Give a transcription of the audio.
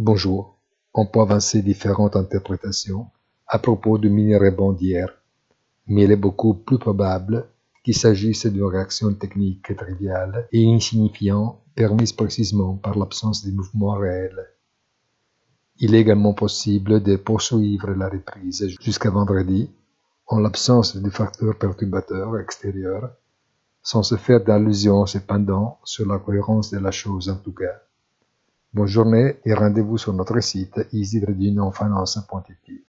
Bonjour, on peut avancer différentes interprétations à propos du mini-rebond d'hier, mais il est beaucoup plus probable qu'il s'agisse d'une réaction technique triviale et insignifiante permise précisément par l'absence de mouvement réel. Il est également possible de poursuivre la reprise jusqu'à vendredi en l'absence de facteurs perturbateurs extérieurs, sans se faire d'allusion cependant sur la cohérence de la chose en tout cas. Bonne journée et rendez-vous sur notre site easy-finance.it.